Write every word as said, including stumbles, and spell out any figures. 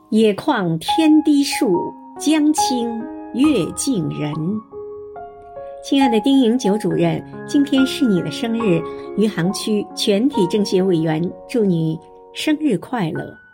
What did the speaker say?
野旷天低树，江清月近人。亲爱的丁营九主任，今天是你的生日，余杭区全体政协委员祝你生日快乐。